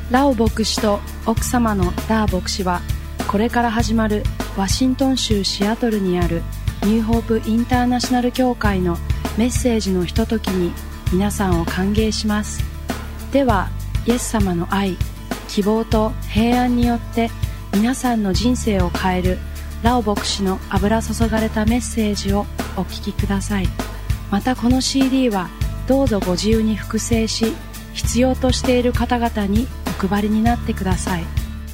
ラオ牧師と奥様のダー牧師は、これから始まるワシントン州シアトルにあるニューホープインターナショナル教会のメッセージのひとときに皆さんを歓迎します。では、イエス様の愛、希望と平安によって皆さんの人生を変えるラオ牧師の油注がれたメッセージをお聞きください。またこの CD はどうぞご自由に複製し、必要としている方々にお配りになってください。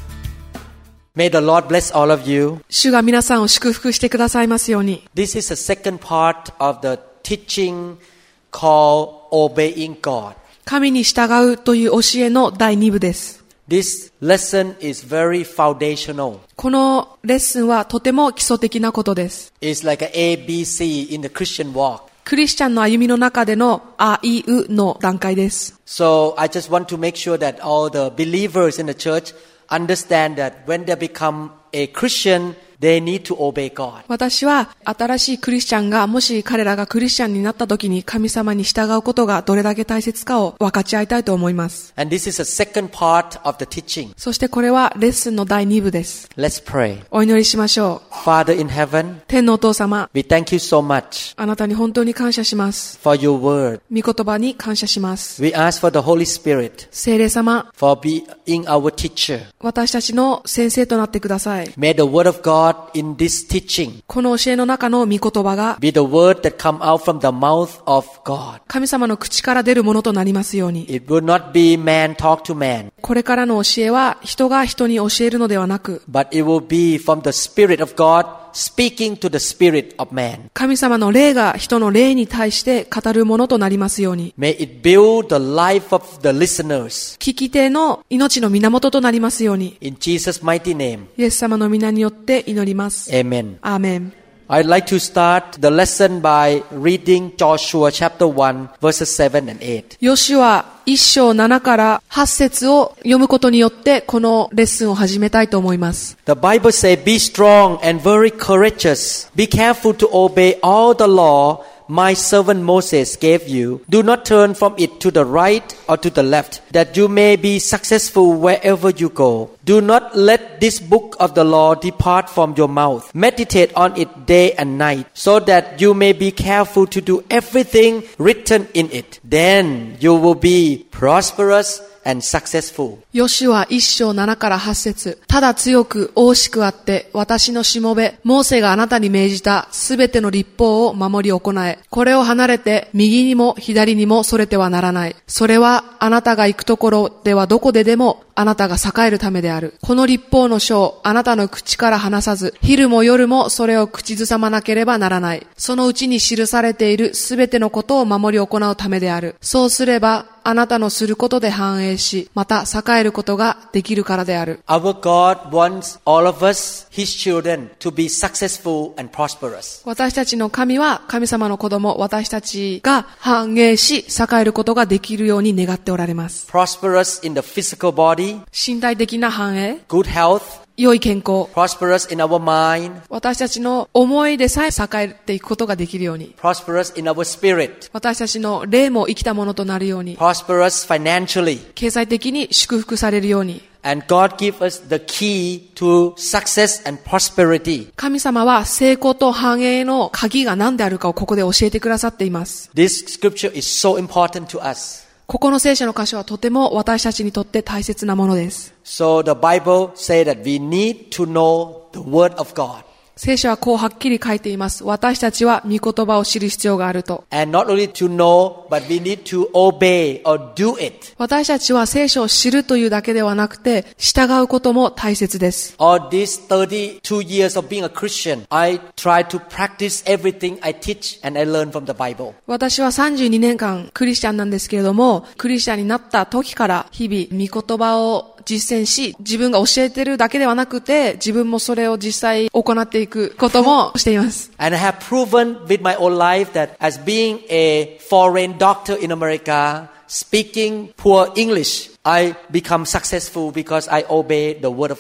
May the Lord bless all of you. 主が皆さんを祝福してくださいますように。 This is the second part of the teaching called Obeying God. 神に従うという教えの第2部です。 This lesson is very foundational. このレッスンはとても基礎的なことです。 It's like an ABC in the Christian walk. クリスチャンの歩みの中でのあいうの段階です。 So I just want to make sure that all the believers in the church understand that when they become a Christian, they need to obey God. 私は新しいクリスチャンがもし彼らがクリスチャンになった時に神様に従うことがどれだけ大切かを分かち合いたいと思います。 And this is the second part of the teaching. そしてこれはレッスンの第2部です。 Let's pray. お祈りしましょう。 Father in heaven, 天のお父様、 we thank you so much あなたに本当に感謝します。 for your word. 御言葉に感謝します。 We ask for the Holy Spirit 聖霊様、 for being our teacher. 私たちの先生となってください。 May the word of God in this teaching この教えの中の御言葉が be the word that come out from the mouth of God. 神様の口から出るものとなりますように。 It will not be man talk to man, これからの教えは人が人に教えるのではなく、 but it will be from the Spirit of God speaking to the spirit of man. 神様の霊が人の霊に対して語るものとなりますように。 May it build the life of the listeners. 聞き手の命の源となりますように。 In Jesus' mighty name, イエス様の皆によって祈ります。 amen. アーメン。 I'd like to start the lesson by reading Joshua chapter 1 verses 7 and 8. ヨシュア1章7から8節を読むことによってこのレッスンを始めたいと思います。 The Bible says, Be strong and very courageous. Be careful to obey all the law my servant Moses gave you. Do not turn from it to the right or to the left, that you may be successful wherever you go. Do not let this book of the law depart from your mouth. Meditate on it day and night, so that you may be careful to do everything written in it. Then you will be prosperous and successful. ヨシュア1章7から8節。ただ強く大しくあって私のしもべモーセがあなたに命じたすべての律法を守り行え。これを離れて右にも左にもそれてはならない。それはあなたが行くところではどこででもあなたが栄えるためである。この律法の書をあなたの口から離さず、昼も夜もそれを口ずさまなければならない。そのうちに記されているすべてのことを守り行うためである。そうすればあなたのすることで繁栄し、また栄えることができるからである。 Our God wants all of us, His children, to be successful and prosperous. 私たちの神は神様の子供、私たちが繁栄し、栄えることができるように願っておられます。 Prosperous in the physical body, 身体的な繁栄、 good health, 良い健康、 prosperous in our mind, 私たちの思いでさえ栄えていくことができるように、 prosperous in our spirit, 私たちの霊も生きたものとなるように、 prosperous financially. 経済的に祝福されるように。 And God gives us the key to success and prosperity. 神様は成功と繁栄の鍵が何であるかをここで教えてくださっています。 This scripture is so important to us. ここの聖書の箇所はとても私たちにとって大切なものです。 So the Bible says that we need to know the word of God. 聖書はこうはっきり書いています。私たちは御言葉を知る必要があると。 And not only to know, but we need to obey or do it. 私たちは聖書を知るというだけではなくて、従うことも大切です。 All these 32 years of being a Christian, I try to practice everything I teach and I learn from the Bible. 私は32年間クリスチャンなんですけれども、クリスチャンになった時から日々御言葉を実践し、自分が教えてるだけではなくて、自分もそれを実際行っていくこともしています。 And I have proven with my own life that as being a foreign doctor in America, speaking poor English, I become successful because I obey the word of God.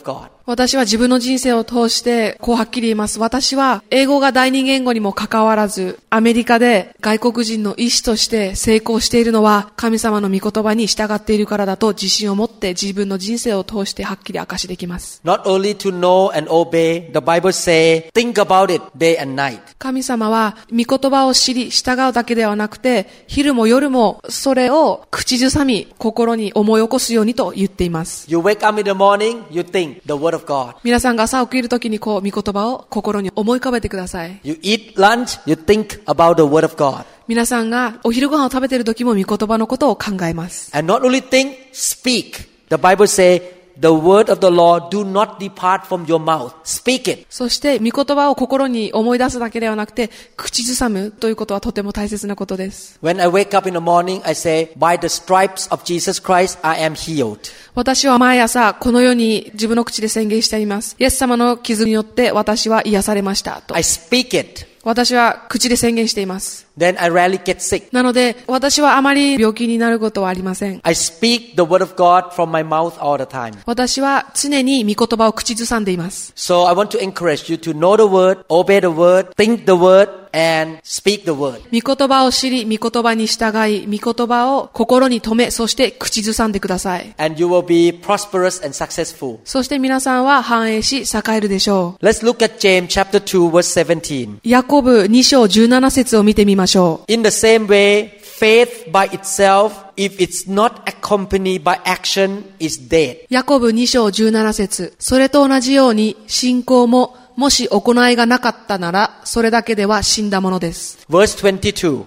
私は自分の人生を通してこうはっきり言います。私は英語が第二言語にもかかわらず、アメリカで外国人の医師として成功しているのは神様の御言葉に従っているからだと自信を持って自分の人生を通してはっきり証しできます。 Not only to know and obey, the Bible say, think about it day and night. 神様は御言葉を知り従うだけではなくて、昼も夜もそれを口ずさみ心に思い起こすようにと言っています。 You wake up in the morning, you think the word of God. 皆さんが朝起きるときにこう御言葉を心に思い浮かべてください。 You eat lunch, you think about the word of God. 皆さんがお昼ご飯を食べているときも御言葉のことを考えます。 And not only think, speak. The Bible say, the word of the Lord do not depart from your mouth. Speak it. そして御言葉を心に思い出すだけではなくて口ずさむということはとても大切なことです。 When I wake up in the morning, I say, by the stripes of Jesus Christ, I am healed. 私は毎朝このように自分の口で宣言しています。イエス様の傷によって私は癒されましたと。 I speak it. 私は口で宣言しています。 Then I rarely get sick. なので私はあまり病気になることはありません。 I speak the word of God from my mouth all the time. 私は常に御言葉を口ずさんでいます。 So I want to encourage you to know the word, obey the word, think the word, and speak the word. 御言葉を知り、御言葉に従い、御言葉を心に留め、そして口ずさんでください。 And you will be prosperous and successful. そして皆さんは繁栄し栄えるでしょう。 Let's look at James chapter 2 verse 17. ヤコブ2章17節を見てみましょう。 In the same way, faith by itself, if it's not accompanied by action, is dead. ヤコブ2章17節。それと同じように信仰ももし行いがなかったならそれだけでは死んだものです。 Verse 22.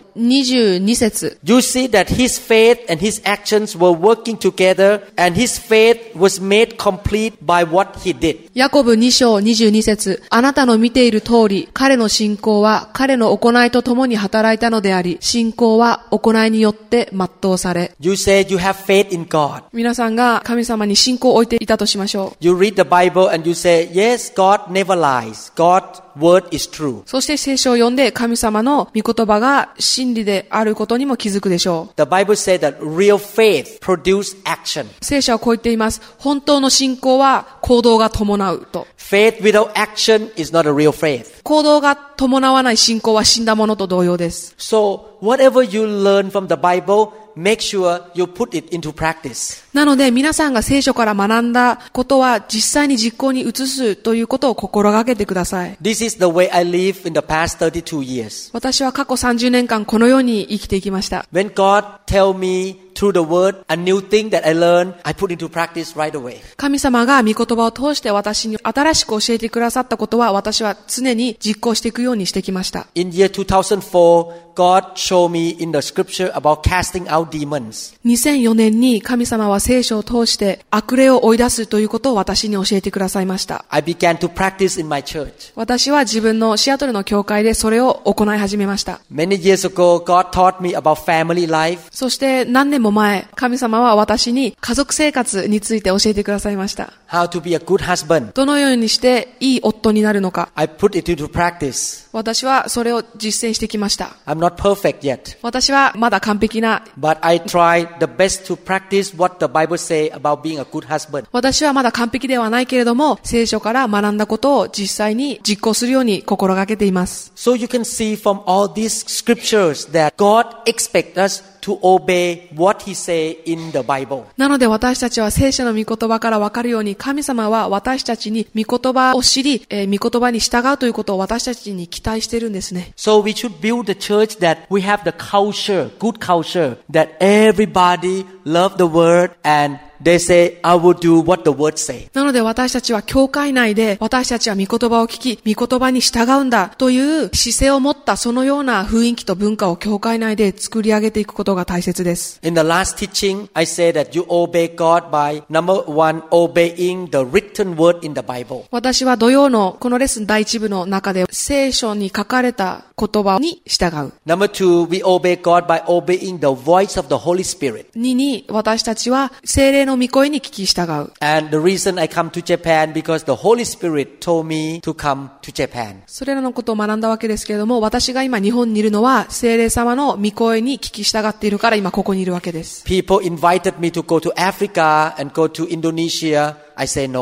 22節。 You see that his faith and his actions were working together, and his faith was made complete by what he did. ヤコブ2章22節。あなたの見ている通り、彼の信仰は彼の行いとともに働いたのであり、信仰は行いによって全うされ。 You say you have faith in God. 皆さんが神様に信仰を置いていたとしましょう。 You read the Bible and you say, yes, God never lies. God's word is true. そして聖書を読んで神様の御言葉が真理であることにも気づくでしょう。 The Bible says that real faith produces action. 聖書はこう言っています。本当の信仰は行動が伴うと。 Faith without action is not a real faith. 行動が伴わない信仰は死んだものと同様です。 So, whatever you learn from the Bible, make sure you put it into practice. なので皆さんが聖書から学んだことは実際に実行に移すということを心がけてください。 This is the way I live in the past 32 years. 私は過去30年間このように生きていきました。 When God tell me through the word a new thing that I learned, I put into practice right away. 神様が御言葉を通して私に新しく教えてくださったことは私は常に実行していくようにしてきました。 In year 2004, God showed me in the scripture about casting out demons. 2004年に神様は聖書を通して悪霊を追い出すということを私に教えてくださいました。 I began to practice in my church. 私は自分のシアトルの教会でそれを行い始めました。 Many years ago, God taught me about family life. そして何年も前、神様は私に家族生活について教えてくださいました。 How to be a good husband. どのようにしていい夫になるのか。 I put it into practice. 私はそれを実践してきました。 I'm not perfect yet. 私はまだ完璧な、 But I try the best to practice what the Bible say about being a good husband. 私はまだ完璧ではないけれども、聖書から学んだことを実際に実行するように心がけています。 So you can see from all these scriptures that God expects us to obey what He say in the Bible. なので私たちは聖書の御言葉から分かるように、神様は私たちに御言葉を知り、御言葉に従うということを私たちに期待しているんですね。 So we should build the church that we have the culture, good culture, that everybody love the word and they say, I will do what the word say. なので私たちは教会内で私たちは御言葉を聞き、御言葉に従うんだという姿勢を持ったそのような雰囲気と文化を教会内で作り上げていくことが大切です。 In the last teaching, I say that you obey God by number one, obeying the written word in the Bible. 私は土曜のこのレッスン第一部の中で聖書に書かれた言葉に従う。 Number two, we obey God by obeying the voice of the Holy Spirit. 2に私たちは聖霊の御声に聞き従う。 And the reason I come to Japan because the Holy Spirit told me to come to Japan. それらのことを学んだわけですけれども、私が今日本にいるのは聖霊様の御声に聞き従っているから今ここにいるわけです。 People invited me to go to Africa and go to Indonesia. I say no.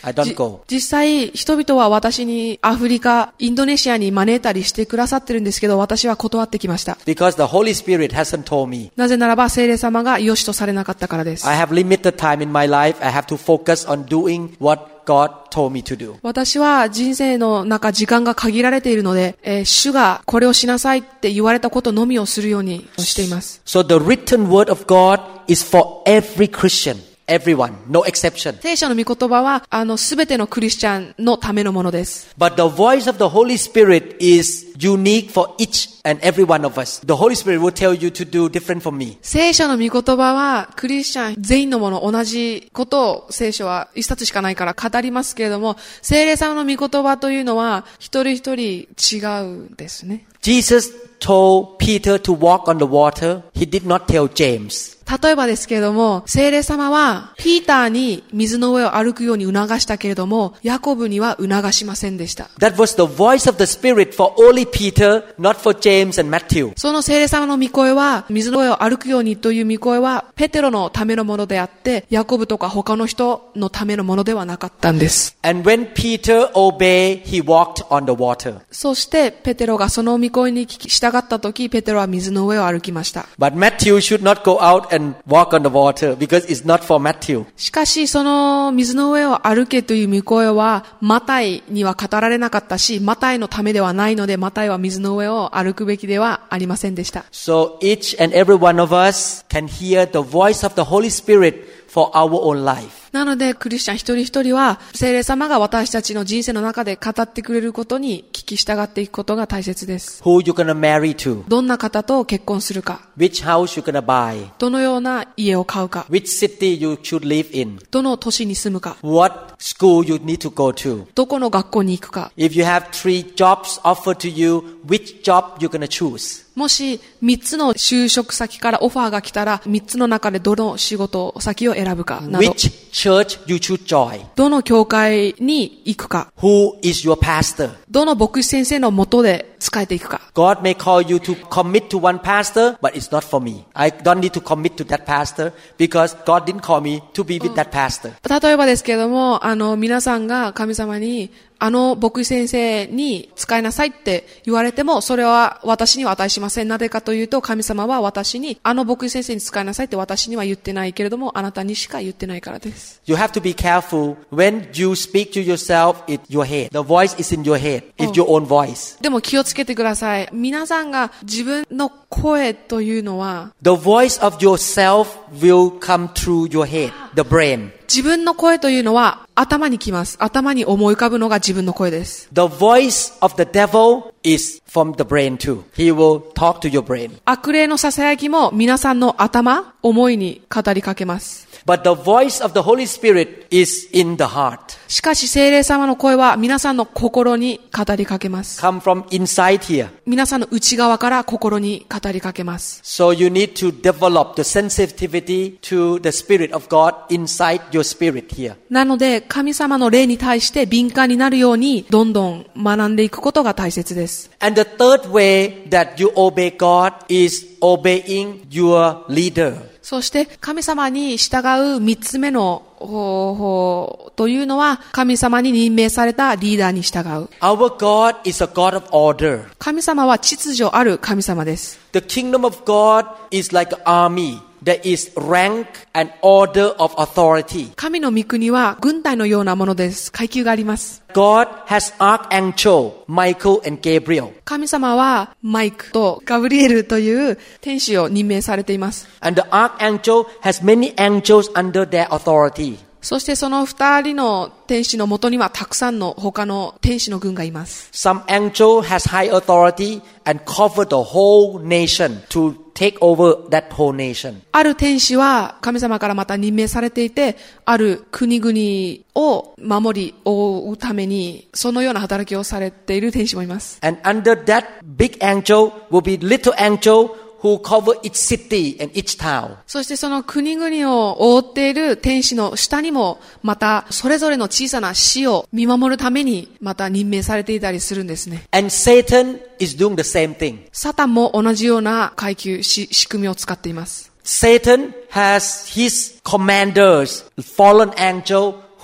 I don't go. 実際、人々は私にアフリカ、インドネシアに招いたりしてくださってるんですけど、私は断ってきました。 Because the Holy Spirit hasn't told me. なぜならば、聖霊様が良しとされなかったからです。 I have limited time in my life. I have to focus on doing what God told me to do. 私は人生の中、時間が限られているので、主がこれをしなさいって言われたことのみをするようにしています。 So the written word of God is for every Christian.Everyone, no exception. 聖書の御言葉は、すべてのクリスチャンのためのものです。 But the voice of the Holy Spirit is unique for each and every one of us. The Holy Spirit will tell you to do different from me. 聖書の御言葉は、クリスチャン全員のもの、同じことを聖書は一冊しかないから語りますけれども、聖霊様の御言葉というのは、一人一人違うんですね。 Jesus told Peter to walk on the water. He did not tell James. 例えばですけれども、聖霊様は、ピーターに水の上を歩くように促したけれども、ヤコブには促しませんでした。 That was the voice of the Spirit for only Peter, not for James and Matthew. その聖霊様の御声は、水の上を歩くようにという御声は、ペテロのためのものであって、ヤコブとか他の人のためのものではなかったんです。 And when Peter obeyed, he walked on the water. そして、ペテロがその御声に従ったとき、ペテロは水の上を歩きました。 But Matthew should not go out and walk on the water because it's not for Matthew. しかし、その水の上を歩けという御声は、マタイには語られなかったし、マタイのためではないので、マタイは水の上を歩くべきではありませんでした。 So each and every one of us can hear the voice of the Holy Spirit for our own life. なので、クリスチャン一人一人は、聖霊様が私たちの人生の中で語ってくれることに聞き従っていくことが大切です。 Who you gonna marry to? どんな方と結婚するか。 Which house you gonna buy? どのような家を買うか。 Which city you should live in? どの都市に住むか。 What school you need to go to? どこの学校に行くか。 If you have 3 jobs offered to you, which job you gonna choose? もし3つの就職先からオファーが来たら3つの中でどの仕事先を選ぶかなど Which church you should join? どの教会に行くか Who is your pastor? どの牧師先生の下で仕えていくか God may call you to commit to one pastor, but it's not for me. I don't need to commit to that pastor because God didn't call me to be with that pastor. 例えばですけれども、皆さんが神様に牧師先生に使いなさいって言われても、それは私には値しません。なぜかというと、神様は私に、牧師先生に使いなさいって私には言ってないけれども、あなたにしか言ってないからです。 You have to be careful when you speak to yourself in your head. The voice is in your head. It's your own voice. でも気をつけてください。皆さんが自分の声というのは、 The voice of yourself will come through your head, the brain. 自分の声というのは頭に来ます。頭に思い浮かぶのが自分の声です。 The voice of the devil is from the brain too. He will talk to your brain. 悪霊の囁きも皆さんの頭、思いに語りかけます。 But the voice of the Holy Spirit is in the heart. しかし聖霊様の声は皆さんの心に語りかけます。 Come from inside here. 皆さんの内側から心に語りかけます。 So you need to develop the sensitivity to the Spirit of God inside your spirit here. なので神様の霊に対して敏感になるようにどんどん学んでいくことが大切です。 And the third way that you obey God is obeying your leader. そして神様に従う三つ目の方法というのは神様に任命されたリーダーに従う。 Our God is a God of order. 神様は秩序ある神様です。 The kingdom of God is like an army. There is rank and order of authority. 神の御国は軍隊のようなものです。階級があります。 God has archangel Michael and Gabriel. 神様はマイクとガブリエルという天使を任命されています。 And the archangel has many angels under their authority. そしてその二人の天使のもとにはたくさんの他の天使の軍がいます。 Some angel has high authority and cover the whole nation to take over that whole nation. ある天使は神様からまた任命されていて、ある国々を守り覆うためにそのような働きをされている天使もいます。 And under that big angel will be little angel who cover each city and each town. そしてその国々を覆っている天使の下にもまたそれぞれの小さな市を見守るためにまた任命されていたりするんですね。 And Satan is doing the same thing. サタンも同じような階級仕組みを使っています。 Satan has his commanders, fallen angel who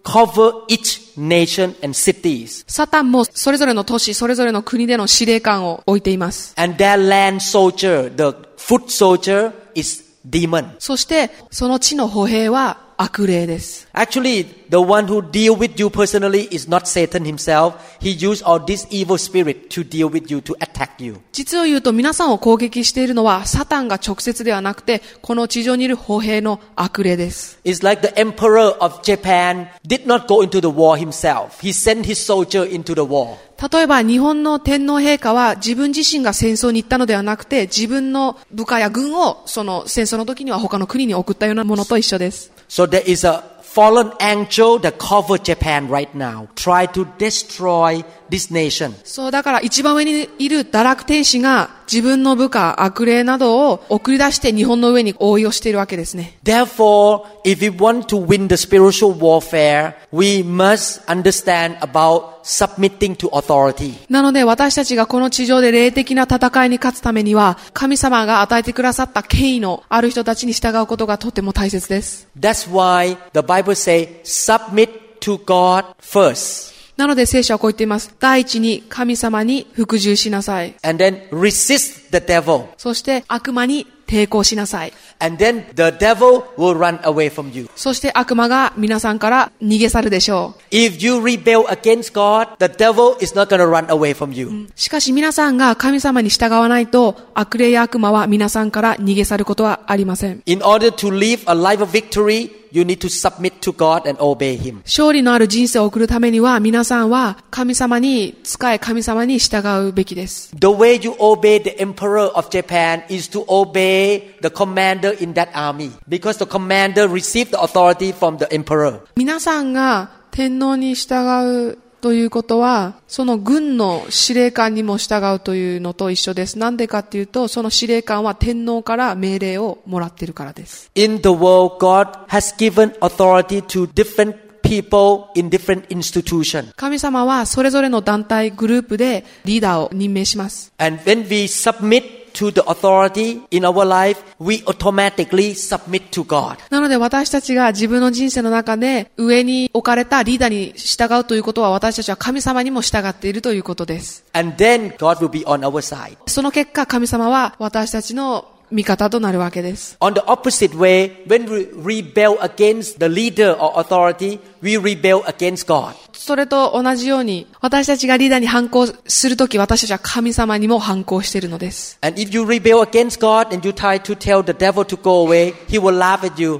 cover each nation and cities. サタンもそれぞれの都市、それぞれの国での司令官を置いています。 And their land soldier, the foot soldier, is demon. そしてその地の歩兵は悪霊です。 Actually, the one who deal with you personally is not Satan himself. He used all this evil spirit to deal with you, to attack you. 実を言うと皆さんを攻撃しているのはサタンが直接ではなくて、この地上にいる歩兵の悪霊です。 It's like the emperor of Japan did not go into the war himself. He sent his soldier into the war. 例えば日本の天皇陛下は自分自身が戦争に行ったのではなくて、自分の部下や軍をその戦争の時には他の国に送ったようなものと一緒です。 So there is a fallen angel that covers Japan right now, try to destroy this nation. そうだから一番上にいる堕落天使が自分の部下、悪霊などを送り出して日本の上に覆いをしているわけですね。 Therefore, if we want to win the spiritual warfare, we must understand about submitting to authority. なので私たちがこの地上で霊的な戦いに勝つためには、神様が与えてくださった権威のある人たちに従うことがとても大切です。 That's why the Bible says, submit to God first. なので聖書はこう言っています。第一に神様に服従しなさい。 And then resist the devil. そして悪魔に抵抗しなさい。 And then the devil will run away from you. そして悪魔が皆さんから逃げ去るでしょう。 If you rebel against God, the devil is not going to run away from you. しかし皆さんが神様に従わないと、悪霊や悪魔は皆さんから逃げ去ることはありません。 In order to live a life of victory, you need to submit to God and obey Him. 勝利のある人生を送るためには、皆さんは神様に仕え、神様に従うべきです。 The way you obey the emperor of Japan is to obey the commander in that army, because the commander received the authority from the emperor. 皆さんが天皇に従うということは、その軍の司令官にも従うというのと一緒です。なんでかっていうと、その司令官は天皇から命令をもらっているからです。 In the world, God has given authority to different people in different institutions. 神様はそれぞれの団体、グループでリーダーを任命します。 And when we submit to the authority in our life, we automatically submit to God. なので私たちが自分の人生の中で上に置かれたリーダーに従うということは、私たちは神様にも従っているということです。 And then God will be on our side. その結果、神様は私たちの味方となるわけです。 On the opposite way, when we rebel against the leader or authority, we rebel against God. それと同じように、私たちがリーダーに反抗するとき、私たちは神様にも反抗しているのです。 And if you rebel against God and you try to tell the devil to go away, he will laugh at you.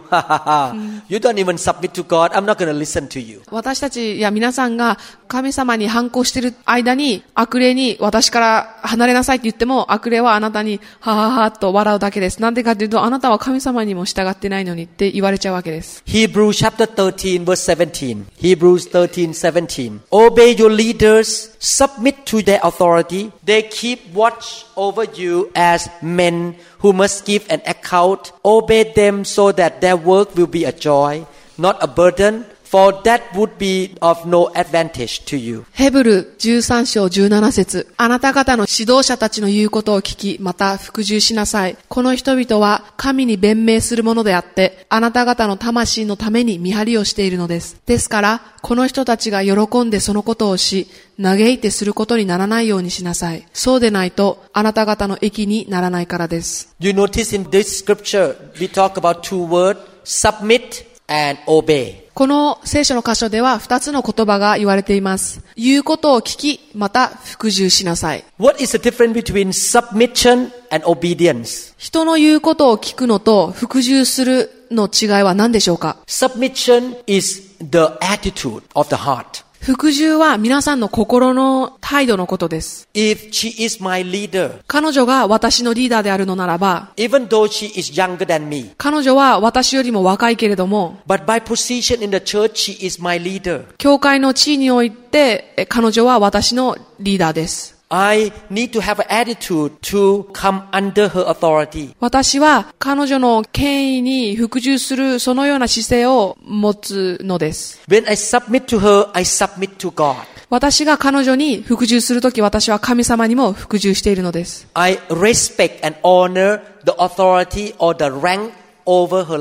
You don't even submit to God. I'm not going to listen to you. 私たちや皆さんが神様に反抗している間に、悪霊に私から離れなさいって言っても、悪霊はあなたにはははと笑うだけです。なんでかというと、あなたは神様にも従ってないのにって言われちゃうわけです。 Hebrews chapter 13 verse 17. Hebrews 13:17. Obey your leaders, submit to their authority. They keep watch over you as men who must give an account. Obey them so that their work will be a joy, not a burden, for that would be of no advantage to you. ヘブル13章17節。あなた方の指導者たちの言うことを聞き、また服従しなさい。この人々は神に弁明するものであって、あなた方の魂のために見張りをしているのです。ですから、この人たちが喜んでそのことをし、嘆いてすることにならないようにしなさい。そうでないと、あなた方の益にならないからです。 You notice in this scripture, we talk about two words, submit and obey. この聖書の箇所では2つの言葉が言われています。言うことを聞き、また服従しなさい。 What is the difference between submission and obedience? 人の言うことを聞くのと服従するの違いは何でしょうか？ Submission is the attitude of the heart. 服従は皆さんの心の態度のことです。 If she is my leader, 彼女が私のリーダーであるのならば、 even though she is younger than me, 彼女は私よりも若いけれども、 but by position in the church, she is my leader. 教会の地位において、彼女は私のリーダーです。 I need to have an attitude to come under her authority. 私は彼女の権威に服従するそのような姿勢を持つのです。 When I submit to her, I submit to God. 私が彼女に服従するとき、私は神様にも服従しているのです。 I respect and honor the authority or the rank over her life.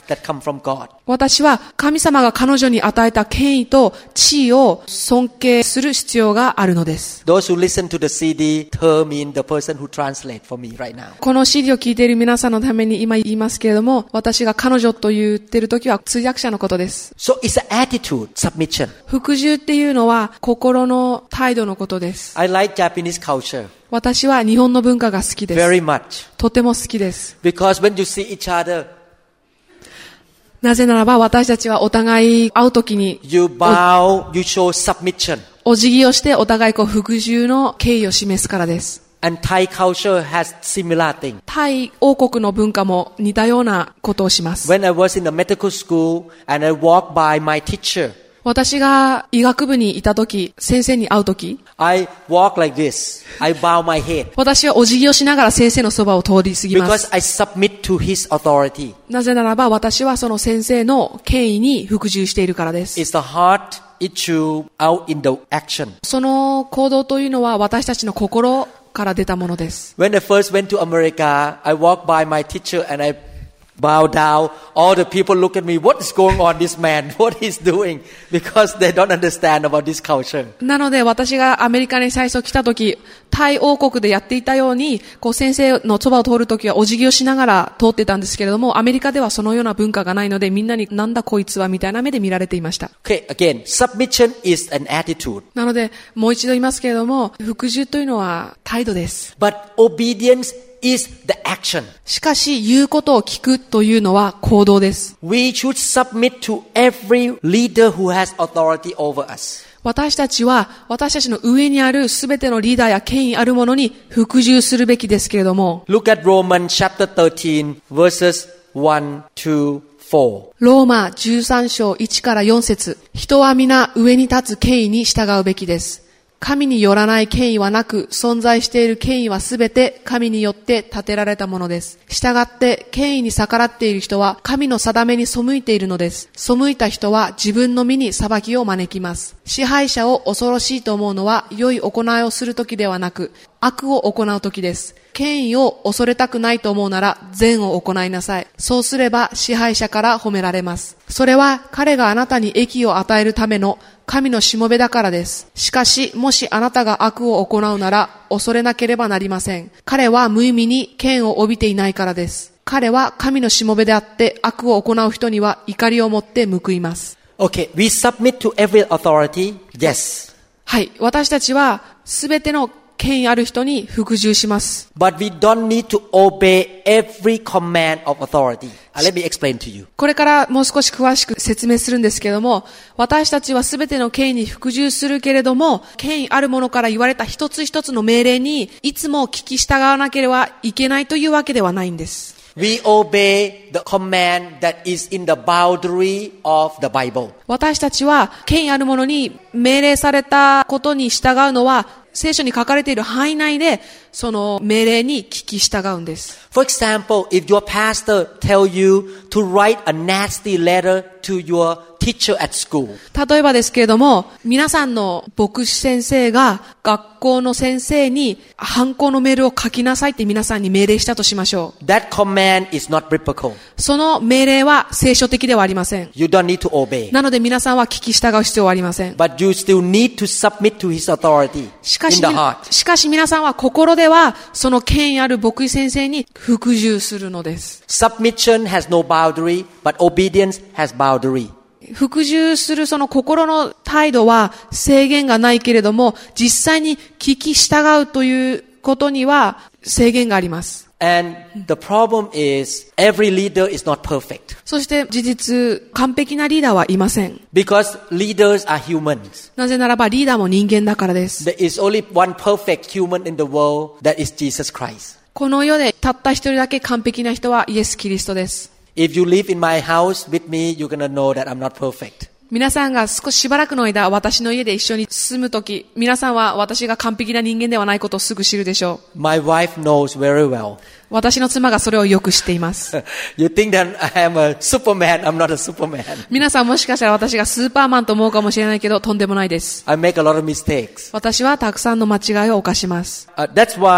that come from God. 私は神様が彼女に与えた権威と地位を尊敬する必要があるのです。 Those who listen to the CD, her mean the person who translate for me right now. この CD を聞いている皆さんのために今言いますけれども、私が彼女と言っているときは通訳者のことです。 So it's an attitude, submission. 服従っていうのは心の態度のことです。 I like Japanese culture 私は日本の文化が好きです。 very much. とても好きです。 Because when you see each other, なぜならば私たちはお互い会うときに you bow, you show submission. お辞儀をしてお互い服従の敬意を示すからです。 And Thai culture has similar thing. タイ王国の文化も似たようなことをします。 When I was in the medical school and I walked by my teacher, 私が医学部にいたとき、先生に会うとき、 I walk like this. I bow my head. 私はお辞儀をしながら先生のそばを通り過ぎます。 Because I submit to his authority. なぜならば私はその先生の権威に服従しているからです。 It's the heart issue out in the action. その行動というのは私たちの心から出たものです。 When I first went to America, I walked by my teacher and I bow down. All the people look at me. What is going on, this man? What he's doing? Because they don't understand about this culture. なので私がアメリカに最初来たとき、タイ王国でやっていたように、先生のそばを通るときはお辞儀をしながら通ってたんですけれども、アメリカではそのような文化がないので、みんなになんだこいつはみたいな目で見られていました。 Okay, again, submission is an attitude. なので、もう一度言いますけれども、服従というのは態度です。 But obedience is the action. しかし、言うことを聞くというのは行動です。 We should submit to every leader who has authority over us. 私たちは、私たちの上にあるすべてのリーダーや権威あるものに服従するべきですけれども、 Look at Romans chapter 13 verses 1 to 4. ローマ13章1から4節、人は皆上に立つ権威に従うべきです。神によらない権威はなく、存在している権威はすべて神によって立てられたものです。したがって権威に逆らっている人は神の定めに背いているのです。背いた人は自分の身に裁きを招きます。支配者を恐ろしいと思うのは良い行いをするときではなく、悪を行うときです。権威を恐れたくないと思うなら善を行いなさい。そうすれば支配者から褒められます。それは彼があなたに益を与えるための神のしもべだからです。しかし、もしあなたが悪を行うなら恐れなければなりません。彼は無意味に権を帯びていないからです。彼は神のしもべであって悪を行う人には怒りを持って報います。 Okay, we submit to every authority. Yes. はい。私たちはすべての権威ある人に服従します。 But we don't need to obey every command of authority. Let me explain to you. これからもう少し詳しく説明するんですけども、私たちはすべての権威に服従するけれども、権威あるものから言われた一つ一つの命令にいつも聞き従わなければいけないというわけではないんです。 We obey the command that is in the boundary of the Bible. 私たちは権威あるものに命令されたことに従うのは聖書に書かれている範囲内でその命令に聞き従うんです。 For example, if your pastor tell you to write a nasty letter to your teacher at school. 例えばですけれども、皆さんの牧師先生が学校の先生に反抗のメールを書きなさいって皆さんに命令したとしましょう。 That command is not biblical. その命令は聖書的ではありません。 You don't need to obey. なので皆さんは聞き従う必要はありません。 But you still need to submit to his authority しか in し the heart. しかし皆さんは心ではその権威ある牧師先生に服従するのです。 Submission has no boundary, but obedience has boundary. 服従するその心の態度は制限がないけれども、実際に聞き従うということには制限があります。 And the problem is every leader is not perfect. そして事実、完璧なリーダーはいません。 Because leaders are humans. なぜならばリーダーも人間だからです。 There is only one perfect human in the world, that is Jesus Christ. この世でたった一人だけ完璧な人はイエス・キリストです。 If you live in my house with me, you're gonna know that I'm not perfect. 皆さんが少ししばらくの間、私の家で一緒に住むとき、皆さんは私が完璧な人間ではないことをすぐ知るでしょう。 My wife knows very well. 私の妻がそれをよく知っています。 You think that I am a Superman? I'm not a Superman. 皆さんもしかしたら私がスーパーマンと思うかもしれないけど、とんでもないです。 I make a lot of mistakes. 私はたくさんの間違いを犯します。 That's why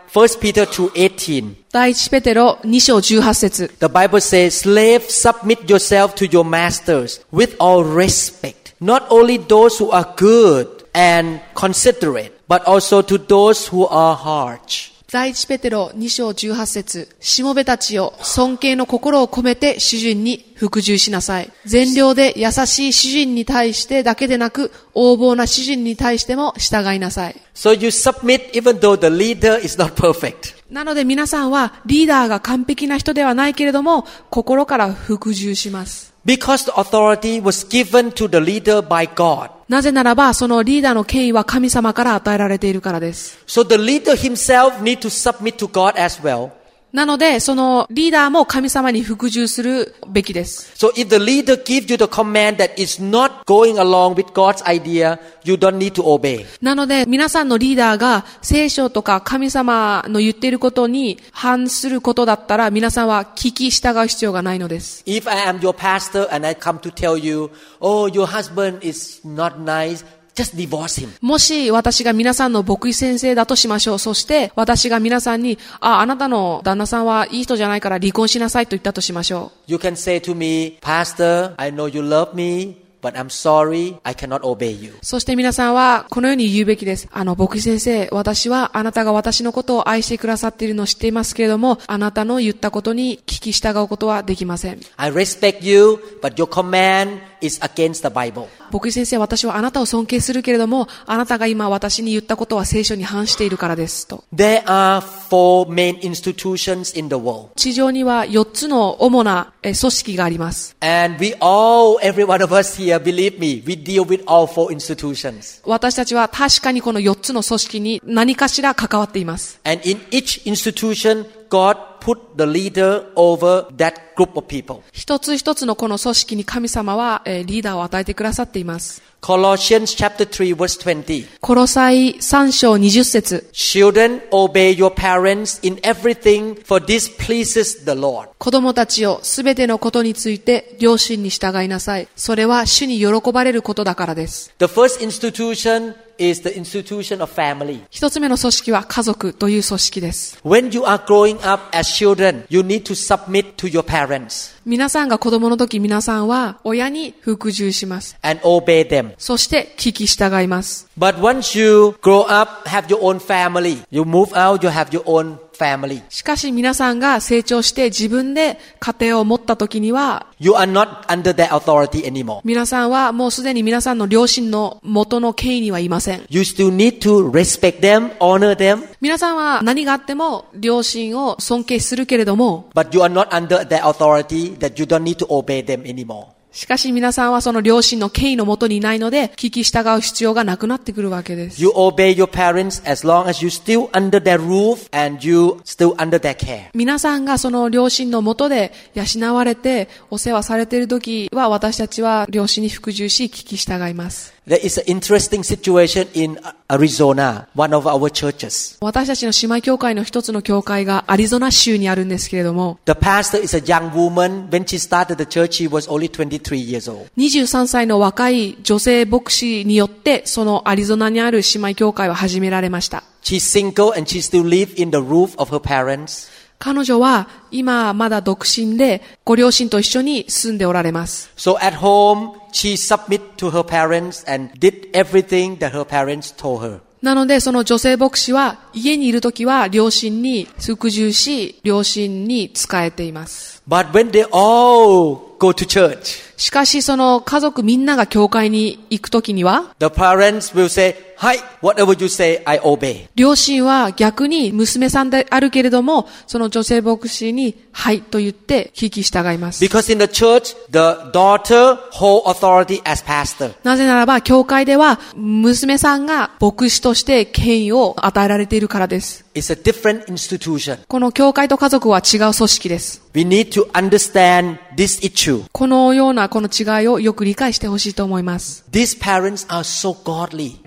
1 Peter 2:18. 第一ペテロ2章18節 The Bible says, Slaves, submit yourself to your masters with all respect. Not only those who are good and considerate, but also to those who are harsh. 第一ペテロ2章18節しもべたちよ、尊敬の心を込めて主人に服従しなさい。善良で優しい主人に対してだけでなく、横暴な主人に対しても従いなさい。 So you submit even though the leader is not perfect. なので皆さんはリーダーが完璧な人ではないけれども、心から服従します。 Because the authority was given to the leader by God. なぜならば、そのリーダーの権威は神様から与えられているからです。 So the leader himself need to submit to God as well. なので、そのリーダーも神様に服従するべきです。 So if the leader gives you the command that is not going along with God's idea, you don't need to obey. なので、皆さんのリーダーが聖書とか神様の言っていることに反することだったら、皆さんは聞き従う必要がないのです。 If I am your pastor and I come to tell you, oh, your husband is not nice,Just divorce him. もし私が皆さんの牧師先生だとしましょう。そして私が皆さんに、あなたの旦那さんはいい人じゃないから離婚しなさいと言ったとしましょう。 You can say to me, Pastor, I know you love me.But I'm sorry, I cannot obey you. そして皆さんはこのように言うべきです。牧師先生、私はあなたが私のことを愛してくださっているのを知っていますけれども、あなたの言ったことに聞き従うことはできません。 I respect you, but your command is against the Bible. 牧師先生、私はあなたを尊敬するけれども、あなたが今私に言ったことは聖書に反しているからですと。 There are 4 main institutions in the world. 地上には4つの主な組織があります。 And every one of us here, believe me, we deal with all 4 institutions. 私たちは確かにこの4つの組織に何かしら関わっています。 And in each institution, God put the leader over that group of people. 一つ一つのこの組織に神様はリーダーを与えてくださっています。 Colossians chapter 3 verse 20. コロサイ3章20節 Children, obey your parents in everything, for this pleases the Lord. 子供たちよ、すべてのことについて両親に従いなさい。それは主に喜ばれることだからです。 The first institution is the institution of family. 一つ目の組織は家族という組織です。 When you are growing up as children, you need to submit to your parents. 皆さんが子供の時、皆さんは親に服従します。 And obey them. そして聞き従います。 But once you grow up, have your own family, you move out, you have your own family. しかし皆さんが成長して自分で家庭を持った時には、 You are not under their authority anymore. 皆さんはもうすでに皆さんの両親の元の権威にはいません。 You still need to respect them, honor them. 皆さんは何があっても両親を尊敬するけれども、 But you are not under their authority that you don't need to obey them anymore. しかし皆さんはその両親の権威のもとにいないので、聞き従う必要がなくなってくるわけです。 You obey your parents as long as you still under their roof and you still under their care. 皆さんがその両親のもとで養われてお世話されているときは、私たちは両親に服従し聞き従います。 There is an interesting situation in Arizona, one of our churches. 私たちの姉妹教会の一つの教会がアリゾナ州にあるんですけれども、 The pastor is a young woman. When she started the church, she was only 23 years old. 23歳の若い女性牧師によってそのアリゾナにある姉妹教会は始められました。 She's single and she still lives in the roof of her parents. 彼女は今まだ独身でご両親と一緒に住んでおられます。 So at home, she submit to her parents and did everything that her parents told her. なのでその女性牧師は家にいるときは両親に服従し、両親に仕えています。 But when they all go to church, しかしその家族みんなが教会に行くときには、 the parents will say, Hi, whatever you say, I obey. 両親は逆に娘さんであるけれども、その女性牧師にはいと言って聞き従います。 Because in the church, the daughter hold authority as pastor. なぜならば、教会では娘さんが牧師として権威を与えられているからです。 It's a different institution. この教会と家族は違う組織です。 We need to understand this issue. このようなこの違いをよく理解してほしいと思います。 These parents are so godly.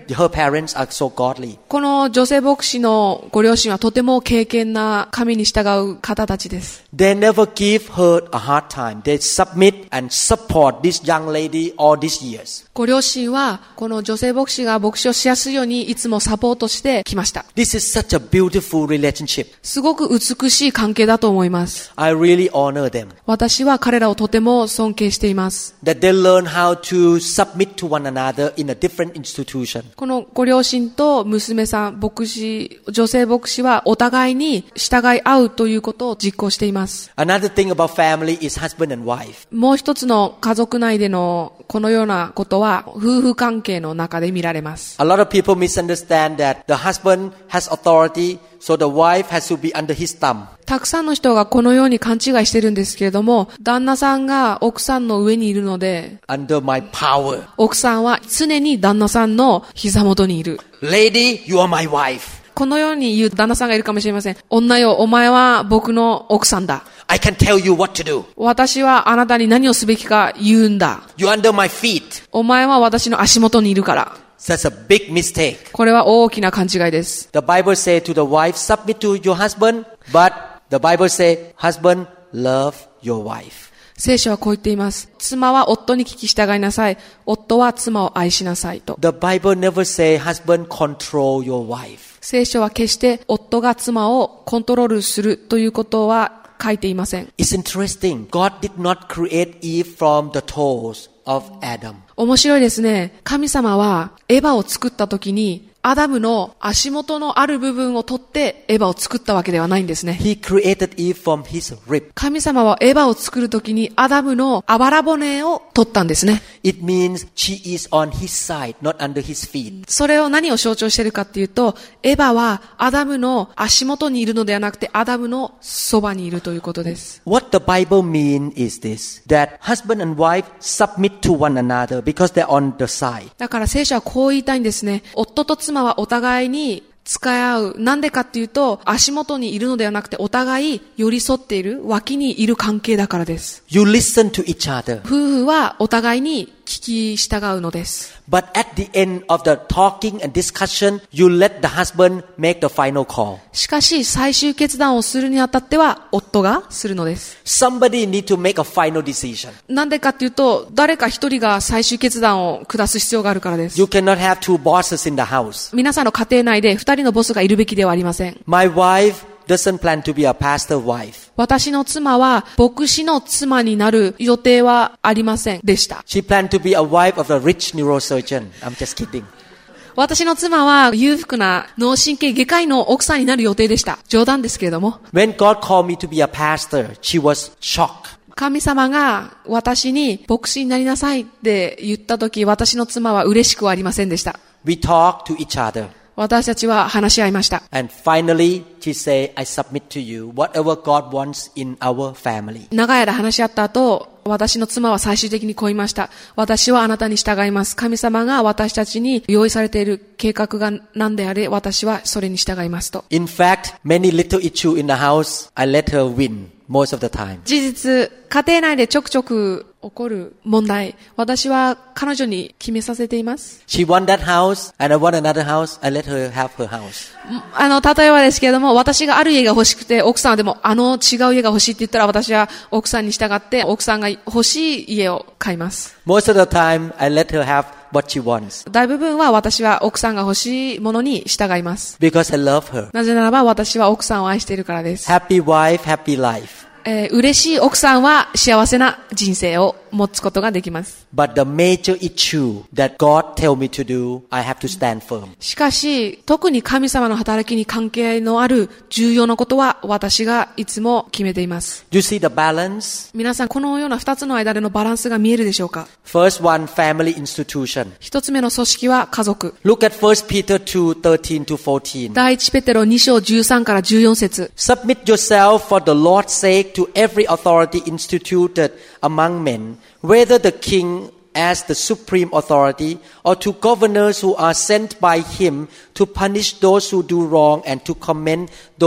Her parents are so godly. この女性牧師のご両親はとても敬虔な神に従う方たちです。 They never give her a hard time. They submit and support this young lady all these years. ご両親はこの女性牧師が牧師をしやすいようにいつもサポートしてきました。 This is such a beautiful relationship. すごく美しい関係だと思います。 I really honor them. 私は彼らをとても尊敬しています。 That they learn how to submit to one another in a different institution. このご両親と娘さん、牧師、女性牧師はお互いに従い合うということを実行しています。 Another thing about family is husband and wife. もう一つの家族内でのこのようなことは夫婦関係の中で見られます。 A lot of people misunderstand that the husband has authority, so the wife has to be under his thumb. たくさんの人がこのように勘違いしてるんですけれども、旦那さんが奥さんの上にいるので、 Under my power. 奥さんは常に旦那さんの膝元にいる。 Lady, you are my wife. このように言う旦那さんがいるかもしれません。女よ、お前は僕の奥さんだ。 I can tell you what to do. 私はあなたに何をすべきか言うんだ。 You're under my feet. お前は私の足元にいるから。 That's a big mistake. これは大きな勘違いです。 The Bible says to the wife, submit to your husband, but the Bible says, husband, love your wife. 聖書はこう言っています。妻は夫に聞き従いなさい。夫は妻を愛しなさいと。 The Bible never say, husband, control your wife. 聖書は決して夫が妻をコントロールするということは書いていません。 It's interesting. God did not create Eve from the toes of Adam. 面白いですね。神様はエヴァを作った時にアダムの足元のある部分を取ってエヴァを作ったわけではないんですね。 He created Eve from his rib. 神様はエヴァを作るときにアダムのあばら骨を取ったんですね。 It means she is on his side, not under his feet. それを何を象徴しているかっていうと、エヴァはアダムの足元にいるのではなくてアダムのそばにいるということです。 What the Bible means is this, that husband and wife submit to one another because they're on the side. だから聖書はこう言いたいんですね。夫と妻はお互いに使い合う。なんでかっていうと、足元にいるのではなくて、お互い寄り添っている、脇にいる関係だからです。 You listen to each other. 夫婦はお互いに聞き従うのです。 But at the end of the talking and discussion, you let the husband make the final call. しかし、最終決断をするにあたっては、夫がするのです。 Somebody need to make a final decision. なんでかっていうと、誰か一人が最終決断を下す必要があるからです。 You cannot have two bosses in the house. 皆さんの家庭内で二人のボスがいるべきではありません。 My wife doesn't plan to be a pastor wife. 私の妻は牧師の妻になる予定はありませんでした。 She planned to be a wife of a rich neurosurgeon. I'm just kidding. 私の妻は裕福な脳神経外科医の奥さんになる予定でした。冗談ですけれども。 When God called me to be a pastor, she was shocked. 神様が私に牧師になりなさいって言ったとき、私の妻は嬉しくはありませんでした。 We talked to each other. 私たちは話し合いました。 And finally, she said, I submit to you whatever God wants in our family. 長い間話し合った後、私の妻は最終的にこう言いました。私はあなたに従います。神様が私たちに用意されている計画が何であれ、私はそれに従いますと。 In fact, many little issues in the house, I let her win most of the time. 事実、家庭内でちょくちょく起こる問題、私は彼女に決めさせています。 She won that house, and I want another house. I let her have her house. 例えばですけれども、私がある家が欲しくて、奥さんはでも違う家が欲しいって言ったら、私は奥さんに従って、奥さんが欲しい家を買います。 Most of the time, I let her have what she wants. 大部分は私は奥さんが欲しいものに従います。 Because I love her. なぜならば私は奥さんを愛しているからです。 Happy wife, happy life. 嬉しい奥さんは幸せな人生を持つことができます。 But the major issue that God tell me to do, I have to stand firm. しかし、特に神様の働きに関係のある重要なことは私がいつも決めています。 Do you see the balance? 皆さん、このような二つの間でのバランスが見えるでしょうか？ First one, family institution. 一つ目の組織は家族。 Look at 1 Peter 2:13 to 14. 第一ペテロ2章13から14節。 Submit yourself for the Lord's sake to every authority instituted among men, whether the king as the supreme authority or to governors who are sent by him to punish those who do wrong and to commend those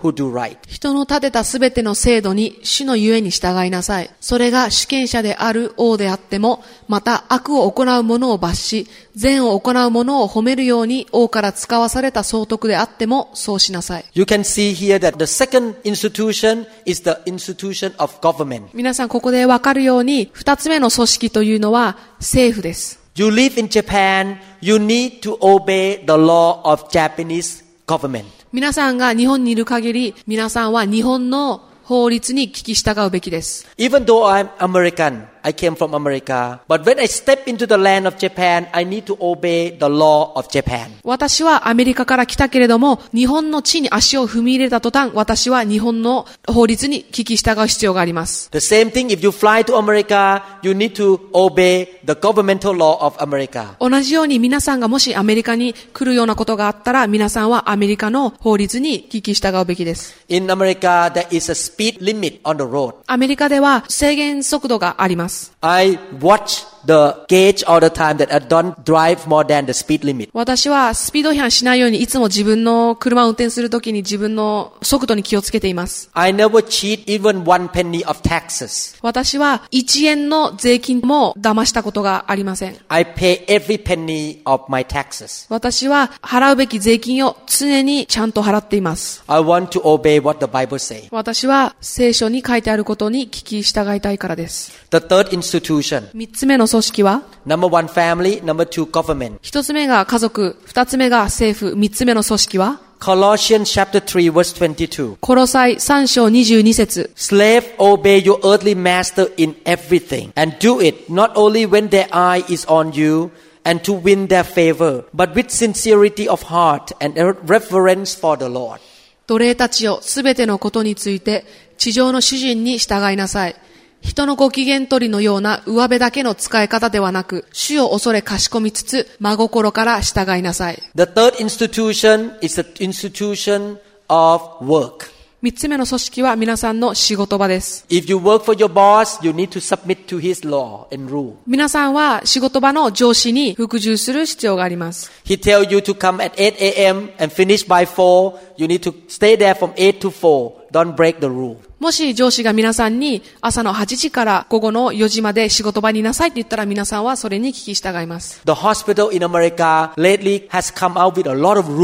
who do right. 人の立てたすべての制度に主のゆえに従いなさい。それが主権者である王であっても、また悪を行う者を罰し、善を行う者を褒めるように王から使わされた総督であってもそうしなさい。 You can see here that the second institution is the institution of government. 皆さんここでわかるように、二つ目の組織というのは政府です。 You live in Japan, you need to obey the law of Japanese government. 皆さんが日本にいる限り、皆さんは日本の法律に聞き従うべきです。 Even though I'm American, I came from America, but when I step into the land of Japan, I need to obey the law of Japan. 私はアメリカから来たけれども、日本の地に足を踏み入れた途端、私は日本の法律に聞き従う必要があります。 The same thing, if you fly to America, you need to obey the governmental law of America. 同じように皆さんがもしアメリカに来るようなことがあったら、皆さんはアメリカの法律に聞き従うべきです。 In America, there is a speed limit on the road. アメリカでは制限速度があります。 I watch the gauge all the time that I don't drive more than the speed limit. 私はスピード違反しないようにいつも自分の車を運転するときに自分の速度に気をつけています。 I never cheat even one penny of taxes. 私は1円の税金も騙したことがありません。 I pay every penny of my taxes. 私は払うべき税金を常にちゃんと払っています。 I want to obey what the Bible says. 私は聖書に書いてあることに聞き従いたいからです。 The third institution. 3つ目の組織は Number one, family. Number two, government. 1つ目が家族、2つ目が政府、3つ目の組織は Colossians chapter 3 verse 22. コロサイ3章22節 Slave, obey your earthly master in everything, and do it not only when their eye is on you, and to win their favor, but with sincerity of heart and reverence for the Lord. 奴隷たちよ、すべてのことについて地上の主人に従いなさい。人のご機嫌取りのような上辺だけの使い方ではなく、主を恐れかしこみつつ、真心から従いなさい。 The third institution is the institution of work. 3つ目の組織は皆さんの仕事場です。 If you work for your boss, you need to submit to his law and rule. 皆さんは仕事場の上司に服従する必要があります。 He tell you to come at 8 a.m. and finish by 4. You need to stay there from 8 to 4. Don't break the rule. もし上司が皆さんに朝の8時から午後の4時まで仕事場にいなさいって言ったら皆さんはそれに聞き従います。 The hospital in America lately has come out with a lot of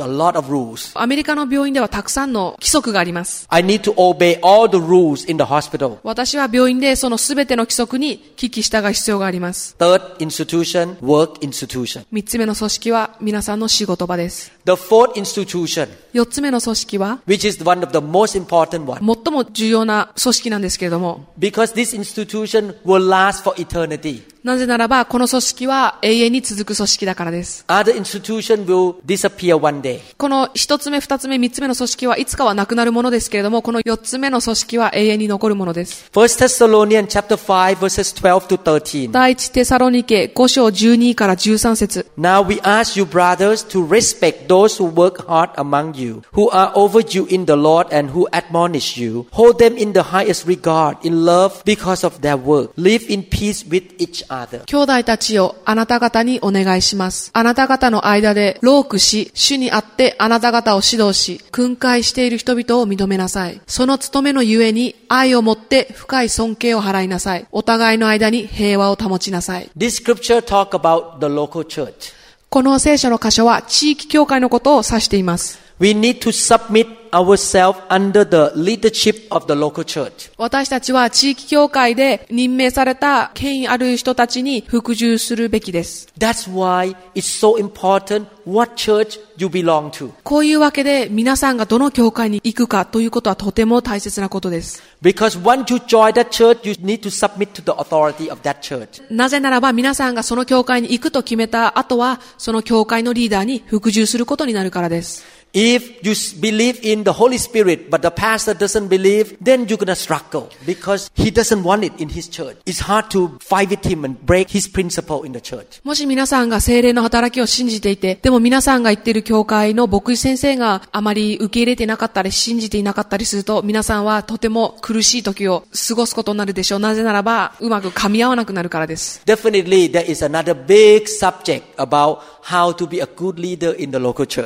rules. アメリカの病院ではたくさんの規則があります。 I need to obey all the rules in the hospital. 私は病院でそのすべての規則に聞き従う必要があります。 Third institution, work institution. 3つ目の組織は皆さんの仕事場です。 The fourth institution, 4つ目の組織は which is one of the most important one. 最も重要な組織なんですけれども、 Because this institution will last for eternity. なぜならばこの組織は永遠に続く組織だからです。 Other institution will disappear one day. この1つ目、2つ目、3つ目の組織はいつかはなくなるものですけれども、この4つ目の組織は永遠に残るものです。 1 Thessalonians chapter 5 verses 12 to 13. 第一テサロニケ5章12から13節 Now we ask you brothers to respect those who work hard among you, who are over you in the Lord and who admonish you. Hold them in the highest regard, in love because of their work. Live in peace with each other. 兄弟たちよ、あなた方にお願いします。あなた方の間で労苦し、主にあってあなた方を指導し、訓戒している人々を認めなさい。その務めのゆえに愛をもって深い尊敬を払いなさい。お互いの間に平和を保ちなさい。 This scripture talk about the local church. この聖書の箇所は地域教会のことを指しています。 We need to submit ourselves under the leadership of the local church. 私たちは地域教会で任命された権威ある人たちに服従するべきです。 That's why it's so important what church you belong to. こういうわけで皆さんがどの教会に行くかということはとても大切なことです。 Because once you join that church, you need to submit to the authority of that church. なぜならば皆さんがその教会に行くと決めた後はその教会のリーダーに服従することになるからです。 If you believe in the Holy Spirit, but the pastor doesn't believe, then you're gonna struggle because he doesn't want it in his church. It's hard to fight with him and break his principle in the church. もし皆さんが聖霊の働きを信じていて、でも皆さんが言っている教会の牧師先生があまり受け入れていなかったり信じていなかったりすると、皆さんはとても苦しい時を過ごすことになるでしょう。なぜならばうまく噛み合わなくなるからです。 Definitely, there is another big subject about how to be a good leader in the local church.